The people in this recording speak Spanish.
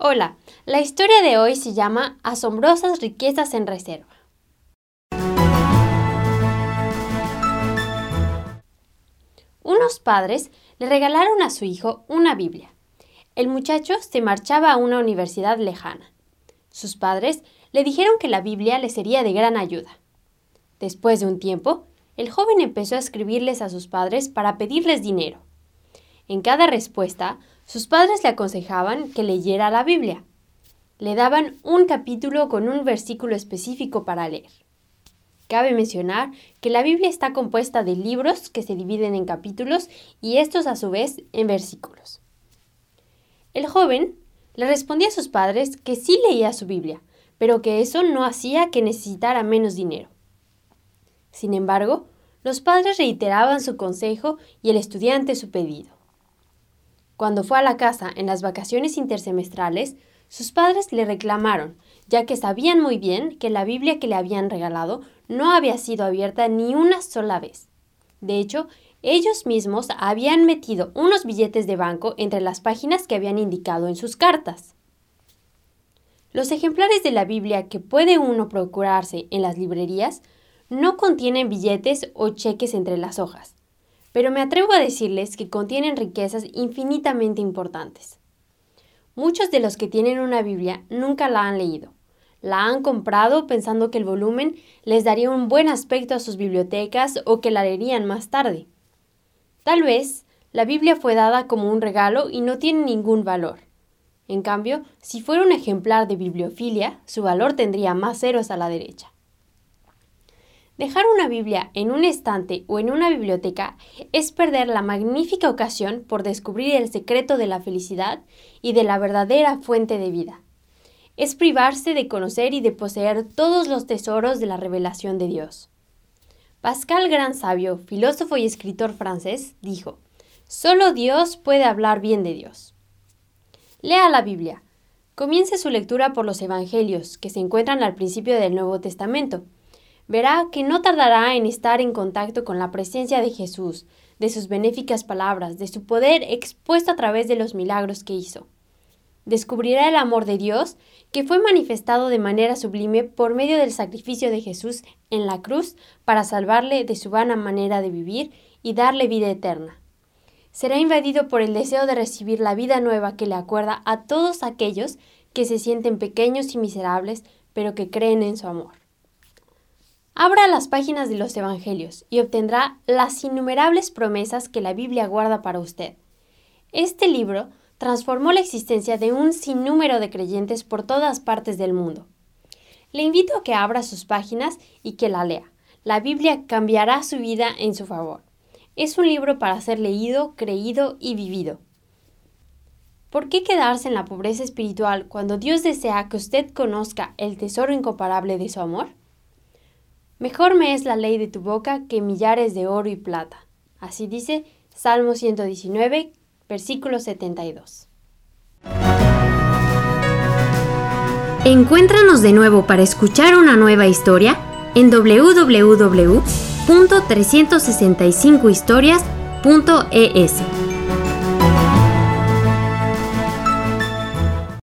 Hola, la historia de hoy se llama Asombrosas riquezas en reserva. Unos padres le regalaron a su hijo una Biblia. El muchacho se marchaba a una universidad lejana. Sus padres le dijeron que la Biblia le sería de gran ayuda. Después de un tiempo, el joven empezó a escribirles a sus padres para pedirles dinero. En cada respuesta, sus padres le aconsejaban que leyera la Biblia. Le daban un capítulo con un versículo específico para leer. Cabe mencionar que la Biblia está compuesta de libros que se dividen en capítulos y estos a su vez en versículos. El joven le respondía a sus padres que sí leía su Biblia, pero que eso no hacía que necesitara menos dinero. Sin embargo, los padres reiteraban su consejo y el estudiante su pedido. Cuando fue a la casa en las vacaciones intersemestrales, sus padres le reclamaron, ya que sabían muy bien que la Biblia que le habían regalado no había sido abierta ni una sola vez. De hecho, ellos mismos habían metido unos billetes de banco entre las páginas que habían indicado en sus cartas. Los ejemplares de la Biblia que puede uno procurarse en las librerías no contienen billetes o cheques entre las hojas, pero me atrevo a decirles que contienen riquezas infinitamente importantes. Muchos de los que tienen una Biblia nunca la han leído. La han comprado pensando que el volumen les daría un buen aspecto a sus bibliotecas o que la leerían más tarde. Tal vez la Biblia fue dada como un regalo y no tiene ningún valor. En cambio, si fuera un ejemplar de bibliofilia, su valor tendría más ceros a la derecha. Dejar una Biblia en un estante o en una biblioteca es perder la magnífica ocasión por descubrir el secreto de la felicidad y de la verdadera fuente de vida. Es privarse de conocer y de poseer todos los tesoros de la revelación de Dios. Pascal Gran Sabio, filósofo y escritor francés, dijo: «Solo Dios puede hablar bien de Dios». Lea la Biblia. Comience su lectura por los Evangelios, que se encuentran al principio del Nuevo Testamento. Verá que no tardará en estar en contacto con la presencia de Jesús, de sus benéficas palabras, de su poder expuesto a través de los milagros que hizo. Descubrirá el amor de Dios que fue manifestado de manera sublime por medio del sacrificio de Jesús en la cruz para salvarle de su vana manera de vivir y darle vida eterna. Será invadido por el deseo de recibir la vida nueva que le acuerda a todos aquellos que se sienten pequeños y miserables, pero que creen en su amor. Abra las páginas de los Evangelios y obtendrá las innumerables promesas que la Biblia guarda para usted. Este libro transformó la existencia de un sinnúmero de creyentes por todas partes del mundo. Le invito a que abra sus páginas y que la lea. La Biblia cambiará su vida en su favor. Es un libro para ser leído, creído y vivido. ¿Por qué quedarse en la pobreza espiritual cuando Dios desea que usted conozca el tesoro incomparable de su amor? Mejor me es la ley de tu boca que millares de oro y plata. Así dice Salmo 119, versículo 72. Encuéntranos de nuevo para escuchar una nueva historia en www.365historias.es.